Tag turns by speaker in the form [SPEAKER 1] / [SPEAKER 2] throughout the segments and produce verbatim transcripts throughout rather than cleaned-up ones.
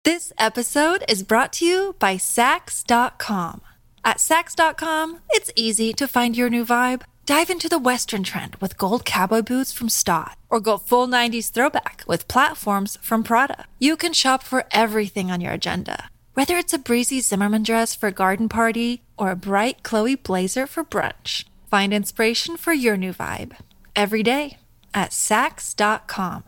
[SPEAKER 1] This episode is brought to you by Sax dot com. At Sax dot com, it's easy to find your new vibe. Dive into the Western trend with gold cowboy boots from Stott, or go full nineties throwback with platforms from Prada. You can shop for everything on your agenda, whether it's a breezy Zimmermann dress for a garden party or a bright Chloe blazer for brunch. Find inspiration for your new vibe every day at Sax dot com.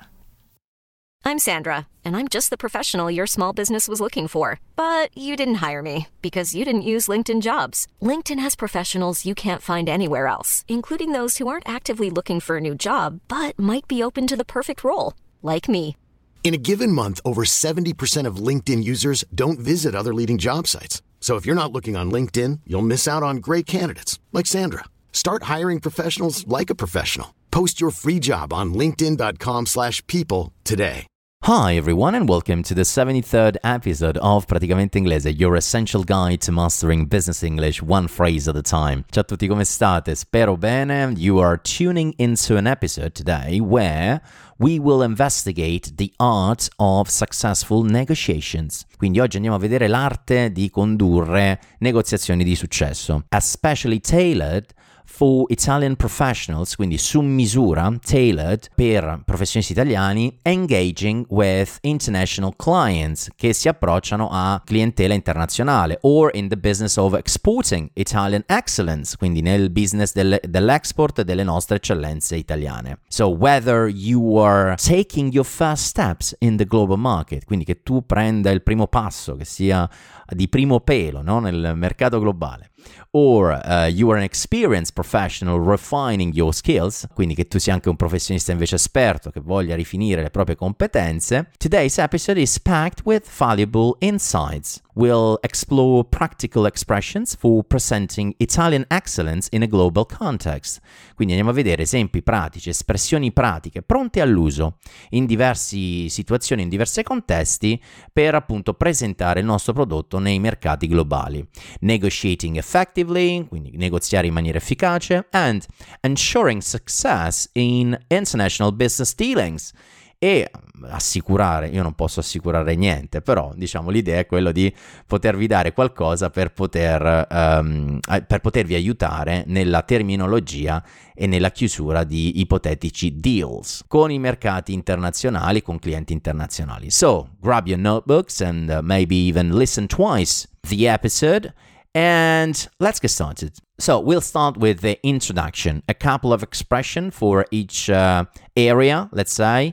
[SPEAKER 2] I'm Sandra, and I'm just the professional your small business was looking for. But you didn't hire me because you didn't use LinkedIn Jobs. LinkedIn has professionals you can't find anywhere else, including those who aren't actively looking for a new job, but might be open to the perfect role, like me.
[SPEAKER 3] In a given month, over seventy percent of LinkedIn users don't visit other leading job sites. So if you're not looking on LinkedIn, you'll miss out on great candidates, like Sandra. Start hiring professionals like a professional. Post your free job on linkedin dot com slash people today.
[SPEAKER 4] Hi everyone and welcome to the seventy-third episode of Praticamente Inglese, your essential guide to mastering business English one phrase at a time. Ciao a tutti, come state? Spero bene. You are tuning into an episode today where we will investigate the art of successful negotiations. Quindi oggi andiamo a vedere l'arte di condurre negoziazioni di successo, especially tailored for Italian professionals, quindi su misura, tailored per professionisti italiani, engaging with international clients che si approcciano a clientela internazionale, or in the business of exporting Italian excellence, quindi nel business del, dell'export delle nostre eccellenze italiane. So whether you are taking your first steps in the global market, quindi che tu prenda il primo passo, che sia di primo pelo, no? Nel mercato globale, or uh, you are an experienced professional refining your skills, quindi che tu sia anche un professionista invece esperto che voglia rifinire le proprie competenze. Today's episode is packed with valuable insights. We'll explore practical expressions for presenting Italian excellence in a global context. Quindi andiamo a vedere esempi pratici, espressioni pratiche pronte all'uso in diverse situazioni, in diversi contesti per appunto presentare il nostro prodotto nei mercati globali. Negotiating effectively, quindi negoziare in maniera efficace, and ensuring success in international business dealings. E assicurare, io non posso assicurare niente, però diciamo l'idea è quella di potervi dare qualcosa per poter um, per potervi aiutare nella terminologia e nella chiusura di ipotetici deals con i mercati internazionali, con clienti internazionali. So, grab your notebooks and uh, maybe even listen twice the episode. And let's get started. So we'll start with the introduction, a couple of expressions for each uh, area, let's say.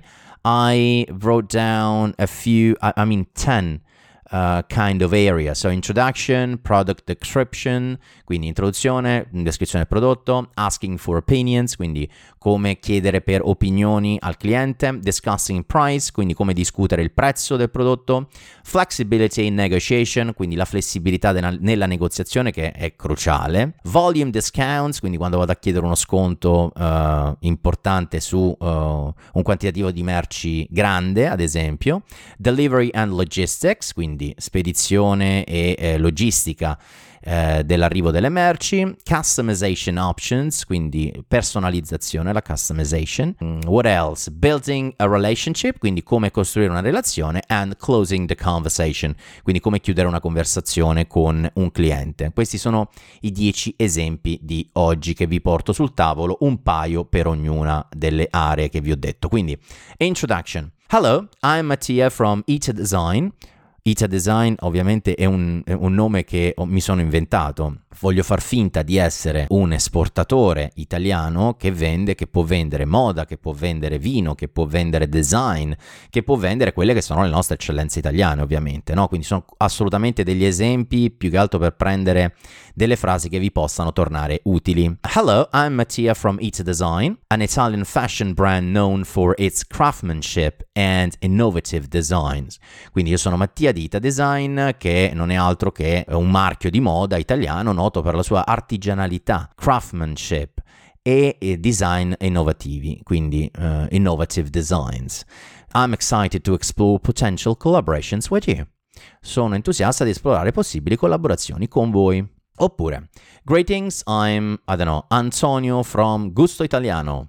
[SPEAKER 4] I wrote down a few, I, I mean ten uh, kind of area. So introduction, product description, quindi introduzione, descrizione del prodotto, asking for opinions, quindi come chiedere per opinioni al cliente, discussing price, quindi come discutere il prezzo del prodotto, flexibility in negotiation, quindi la flessibilità de- nella negoziazione che è cruciale, volume discounts, quindi quando vado a chiedere uno sconto uh, importante su uh, un quantitativo di merci grande, ad esempio, delivery and logistics, quindi spedizione e eh, logistica eh, dell'arrivo delle merci, customization options, quindi personalizzazione, la customization, mm, what else? Building a relationship, quindi come costruire una relazione, and closing the conversation, quindi come chiudere una conversazione con un cliente. Questi sono i dieci esempi di oggi che vi porto sul tavolo, un paio per ognuna delle aree che vi ho detto. Quindi, introduction. Hello, I'm Mattia from Ita Design. Ita Design ovviamente è un, è un nome che mi sono inventato. Voglio far finta di essere un esportatore italiano che vende, che può vendere moda, che può vendere vino, che può vendere design, che può vendere quelle che sono le nostre eccellenze italiane, ovviamente, no? Quindi sono assolutamente degli esempi, più che altro per prendere delle frasi che vi possano tornare utili. Hello, I'm Mattia from Ita Design, an Italian fashion brand known for its craftsmanship and innovative designs. Quindi io sono Mattia di Ita Design, che non è altro che un marchio di moda italiano noto per la sua artigianalità, craftsmanship e, e design innovativi, quindi uh, innovative designs. I'm excited to explore potential collaborations with you. Sono entusiasta di esplorare possibili collaborazioni con voi. Oppure, greetings, I'm, I don't know, Antonio from Gusto Italiano.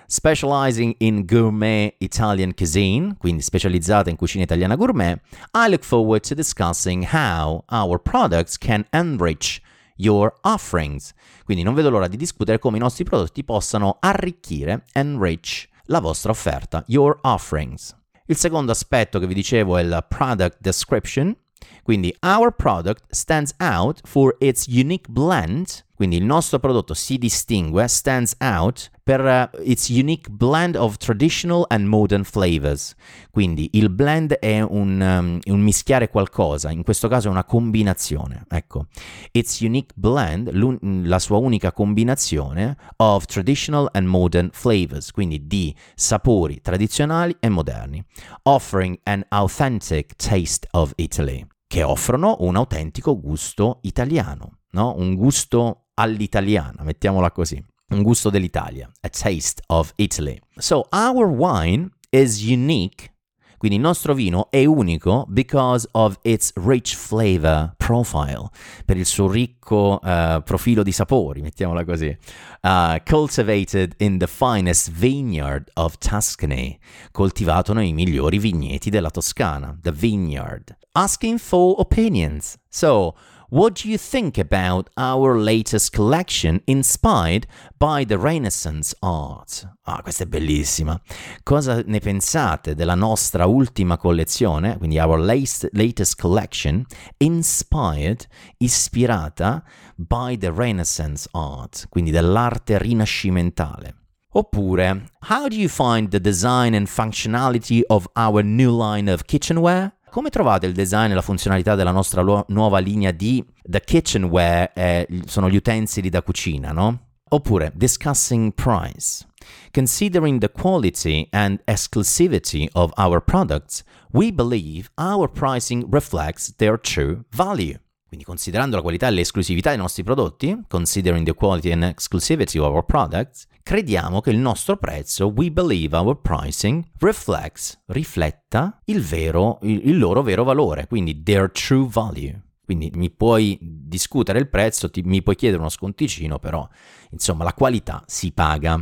[SPEAKER 4] Specializing in gourmet Italian cuisine, quindi specializzata in cucina italiana gourmet, I look forward to discussing how our products can enrich your offerings. Quindi non vedo l'ora di discutere come i nostri prodotti possano arricchire, enrich, la vostra offerta, your offerings. Il secondo aspetto che vi dicevo è la product description. Quindi our product stands out for its unique blend, quindi il nostro prodotto si distingue, stands out, per uh, its unique blend of traditional and modern flavors. Quindi il blend è un, um, un mischiare qualcosa, in questo caso è una combinazione, ecco. Its unique blend, la sua unica combinazione of traditional and modern flavors, quindi di sapori tradizionali e moderni. Offering an authentic taste of Italy, che offrono un autentico gusto italiano, no? Un gusto all'italiana, mettiamola così, un gusto dell'Italia, a taste of Italy. So our wine is unique, quindi il nostro vino è unico because of its rich flavor profile, per il suo ricco uh, profilo di sapori, mettiamola così. Uh, cultivated in the finest vineyard of Tuscany, coltivato nei migliori vigneti della Toscana, the vineyard. Asking for opinions. So, what do you think about our latest collection inspired by the Renaissance art? Ah, questa è bellissima. Cosa ne pensate della nostra ultima collezione, quindi our latest, latest collection, inspired, ispirata by the Renaissance art, quindi dell'arte rinascimentale? Oppure, how do you find the design and functionality of our new line of kitchenware? Come trovate il design e la funzionalità della nostra lu- nuova linea di The Kitchenware, eh, sono gli utensili da cucina, no? Oppure, discussing price. Considering the quality and exclusivity of our products, we believe our pricing reflects their true value. Quindi considerando la qualità e l'esclusività dei nostri prodotti, considering the quality and exclusivity of our products, crediamo che il nostro prezzo, we believe our pricing, reflects, rifletta il vero, il, il loro vero valore, quindi their true value. Quindi mi puoi discutere il prezzo, ti, mi puoi chiedere uno sconticino, però insomma la qualità si paga.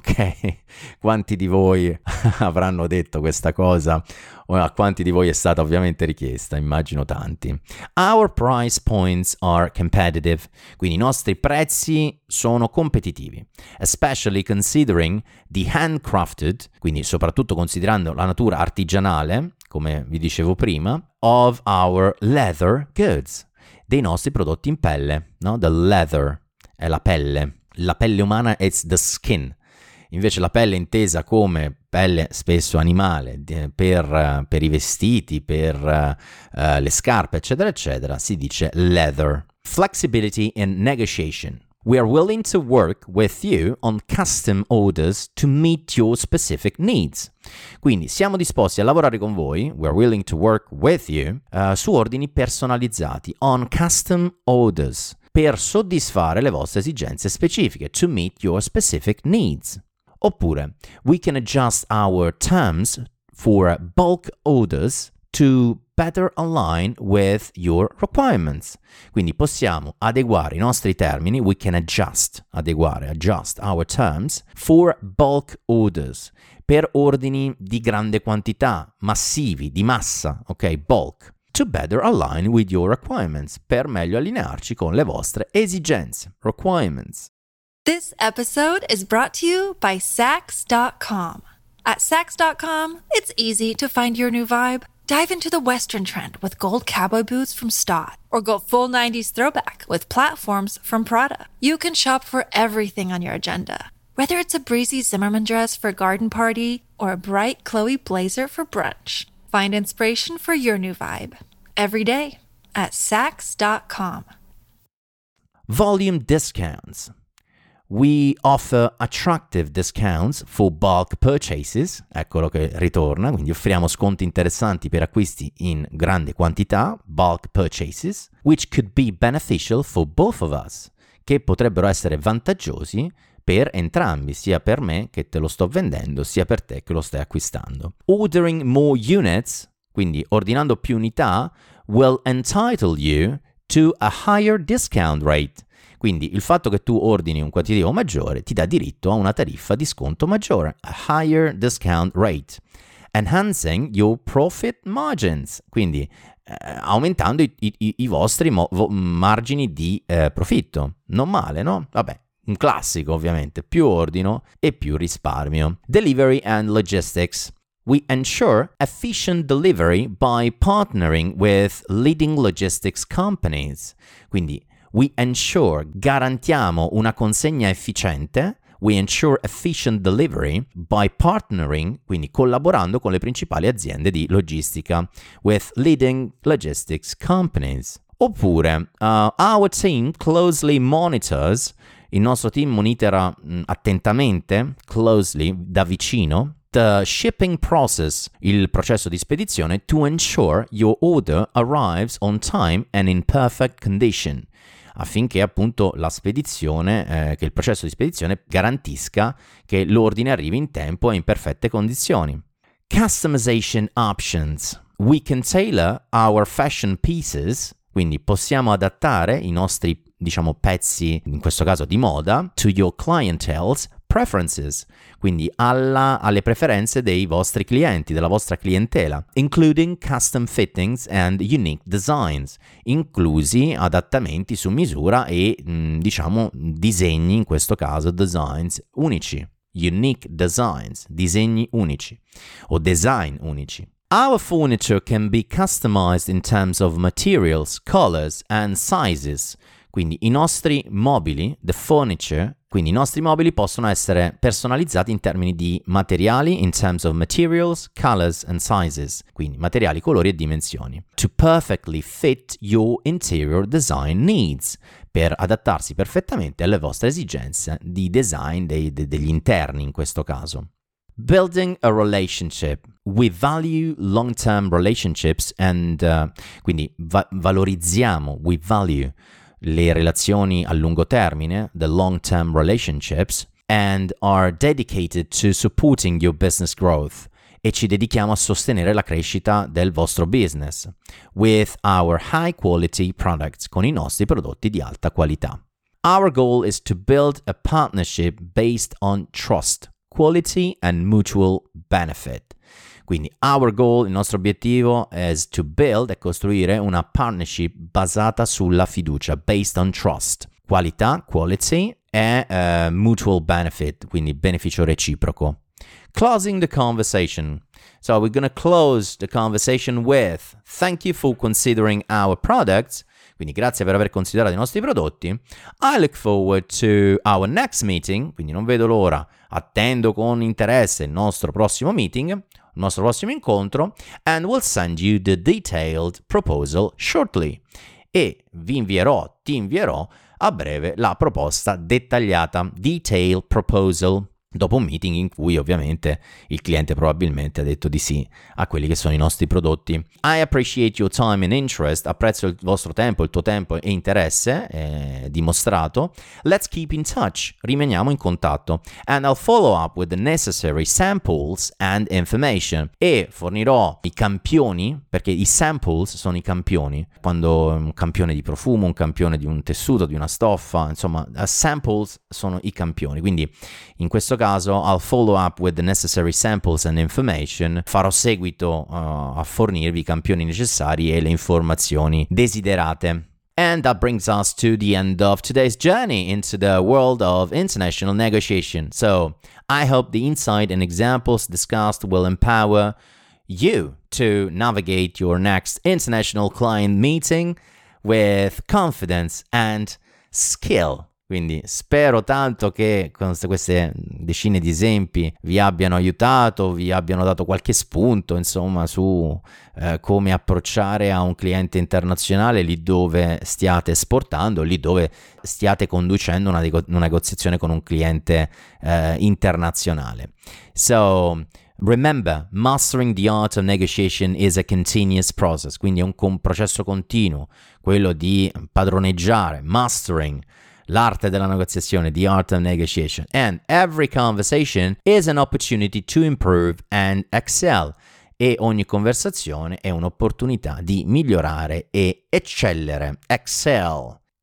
[SPEAKER 4] Ok? Quanti di voi avranno detto questa cosa? O a quanti di voi è stata ovviamente richiesta? Immagino tanti. Our price points are competitive. Quindi i nostri prezzi sono competitivi. Especially considering the handcrafted, quindi soprattutto considerando la natura artigianale, come vi dicevo prima, of our leather goods, dei nostri prodotti in pelle, no? The leather è la pelle. La pelle umana it's the skin. Invece la pelle intesa come pelle spesso animale per, per i vestiti, per uh, le scarpe, eccetera, eccetera, si dice leather. Flexibility in negotiation. We are willing to work with you on custom orders to meet your specific needs. Quindi siamo disposti a lavorare con voi, we are willing to work with you, uh, su ordini personalizzati, on custom orders, per soddisfare le vostre esigenze specifiche, to meet your specific needs. Oppure, we can adjust our terms for bulk orders to better align with your requirements. Quindi possiamo adeguare i nostri termini, we can adjust, adeguare, adjust our terms for bulk orders, per ordini di grande quantità, massivi, di massa, ok, bulk, to better align with your requirements, per meglio allinearci con le vostre esigenze, requirements.
[SPEAKER 1] This episode is brought to you by Sax dot com. At Sax dot com, it's easy to find your new vibe. Dive into the Western trend with gold cowboy boots from Stott, or go full nineties throwback with platforms from Prada. You can shop for everything on your agenda, whether it's a breezy Zimmermann dress for a garden party or a bright Chloe blazer for brunch. Find inspiration for your new vibe every day at Sax dot com.
[SPEAKER 4] Volume discounts. We offer attractive discounts for bulk purchases, eccolo che ritorna, quindi offriamo sconti interessanti per acquisti in grande quantità, bulk purchases, which could be beneficial for both of us, che potrebbero essere vantaggiosi per entrambi, sia per me che te lo sto vendendo, sia per te che lo stai acquistando. Ordering more units, quindi ordinando più unità, will entitle you to a higher discount rate. Quindi il fatto che tu ordini un quantitativo maggiore ti dà diritto a una tariffa di sconto maggiore, a higher discount rate, enhancing your profit margins, quindi eh, aumentando i, i, i vostri mo- vo- margini di eh, profitto. Non male, no? Vabbè. Un classico, ovviamente, più ordino e più risparmio. Delivery and logistics. We ensure efficient delivery by partnering with leading logistics companies. Quindi, we ensure, garantiamo una consegna efficiente. We ensure efficient delivery by partnering, quindi collaborando con le principali aziende di logistica, with leading logistics companies. Oppure, uh, our team closely monitors. Il nostro team monitora mh, attentamente, closely, da vicino, the shipping process, il processo di spedizione, to ensure your order arrives on time and in perfect condition, affinché appunto la spedizione, eh, che il processo di spedizione garantisca che l'ordine arrivi in tempo e in perfette condizioni. Customization options. We can tailor our fashion pieces, quindi possiamo adattare i nostri diciamo pezzi, in questo caso di moda, to your clientele's preferences, quindi alla, alle preferenze dei vostri clienti, della vostra clientela, including custom fittings and unique designs, inclusi adattamenti su misura e mh, diciamo disegni, in questo caso designs unici, unique designs, disegni unici o design unici. Our furniture can be customized in terms of materials, colors and sizes. Quindi i nostri mobili, the furniture, quindi i nostri mobili possono essere personalizzati in termini di materiali, in terms of materials, colors and sizes, quindi materiali, colori e dimensioni, to perfectly fit your interior design needs, per adattarsi perfettamente alle vostre esigenze di design dei, de, degli interni in questo caso. Building a relationship. We value long-term relationships and uh, quindi va- valorizziamo, we value le relazioni a lungo termine, the long-term relationships, and are dedicated to supporting your business growth, e ci dedichiamo a sostenere la crescita del vostro business with our high quality products, con i nostri prodotti di alta qualità. Our goal is to build a partnership based on trust, quality and mutual benefit. Quindi our goal, il nostro obiettivo, is to build, è costruire una partnership basata sulla fiducia, based on trust, qualità, quality e uh, mutual benefit, quindi beneficio reciproco. Closing the conversation. So we're going to close the conversation with thank you for considering our products. Quindi grazie per aver considerato i nostri prodotti. I look forward to our next meeting. Quindi non vedo l'ora, attendo con interesse il nostro prossimo meeting, il nostro prossimo incontro, and we'll send you the detailed proposal shortly. E vi invierò, ti invierò a breve la proposta dettagliata, detailed proposal, dopo un meeting in cui ovviamente il cliente probabilmente ha detto di sì a quelli che sono i nostri prodotti. I appreciate your time and interest, apprezzo il vostro tempo, il tuo tempo e interesse eh, dimostrato. Let's keep in touch, rimaniamo in contatto. And I'll follow up with the necessary samples and information. E fornirò i campioni, perché i samples sono i campioni, quando un campione di profumo, un campione di un tessuto, di una stoffa, insomma, samples sono i campioni, quindi in questo caso I'll follow up with the necessary samples and information, farò seguito uh, a fornirvi i campioni necessari e le informazioni desiderate. And that brings us to the end of today's journey into the world of international negotiation. So I hope the insight and examples discussed will empower you to navigate your next international client meeting with confidence and skill. Quindi spero tanto che con queste decine di esempi vi abbiano aiutato, vi abbiano dato qualche spunto, insomma, su eh, come approcciare a un cliente internazionale lì dove stiate esportando, lì dove stiate conducendo una, nego- una negoziazione con un cliente eh, internazionale. So, remember, mastering the art of negotiation is a continuous process, quindi è un com- processo continuo, quello di padroneggiare, mastering, l'arte della negoziazione, the art of negotiation. And every conversation is an opportunity to improve and excel. E ogni conversazione è un'opportunità di migliorare e eccellere. Excel.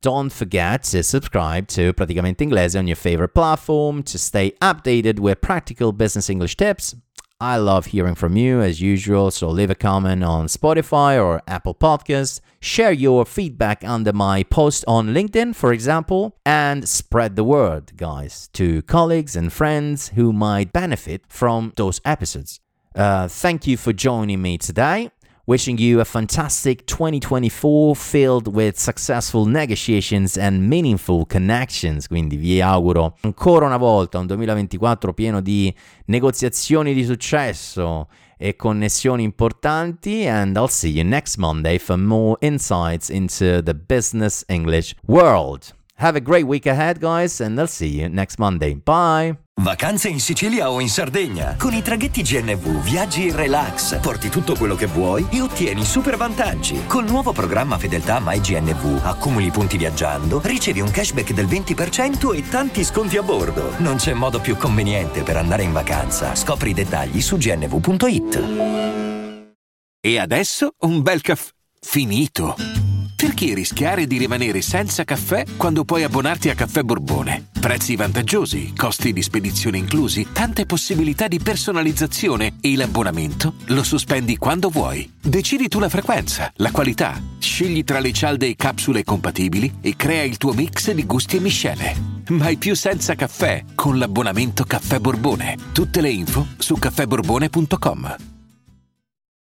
[SPEAKER 4] don't forget to subscribe to Praticamente Inglese on your favorite platform to stay updated with practical business English tips. I love hearing from you as usual, so leave a comment on Spotify or Apple Podcasts, share your feedback under my post on LinkedIn, for example, and spread the word, guys, to colleagues and friends who might benefit from those episodes. Uh, thank you for joining me today. Wishing you a fantastic twenty twenty-four filled with successful negotiations and meaningful connections. Quindi vi auguro ancora una volta un duemilaventiquattro pieno di negoziazioni di successo e connessioni importanti, and I'll see you next Monday for more insights into the business English world. Have a great week ahead, guys, and I'll see you next Monday. Bye!
[SPEAKER 5] Vacanze in Sicilia o in Sardegna. Con i traghetti G N V viaggi in relax, porti tutto quello che vuoi e ottieni super vantaggi. Col nuovo programma Fedeltà MyGNV accumuli punti viaggiando, ricevi un cashback del venti per cento e tanti sconti a bordo. Non c'è modo più conveniente per andare in vacanza. Scopri i dettagli su g n v punto i t.
[SPEAKER 6] E adesso un bel caffè finito. Perché rischiare di rimanere senza caffè quando puoi abbonarti a Caffè Borbone? Prezzi vantaggiosi, costi di spedizione inclusi, tante possibilità di personalizzazione e l'abbonamento lo sospendi quando vuoi. Decidi tu la frequenza, la qualità, scegli tra le cialde e capsule compatibili e crea il tuo mix di gusti e miscele. Mai più senza caffè con l'abbonamento Caffè Borbone. Tutte le info su caffè borbone punto com.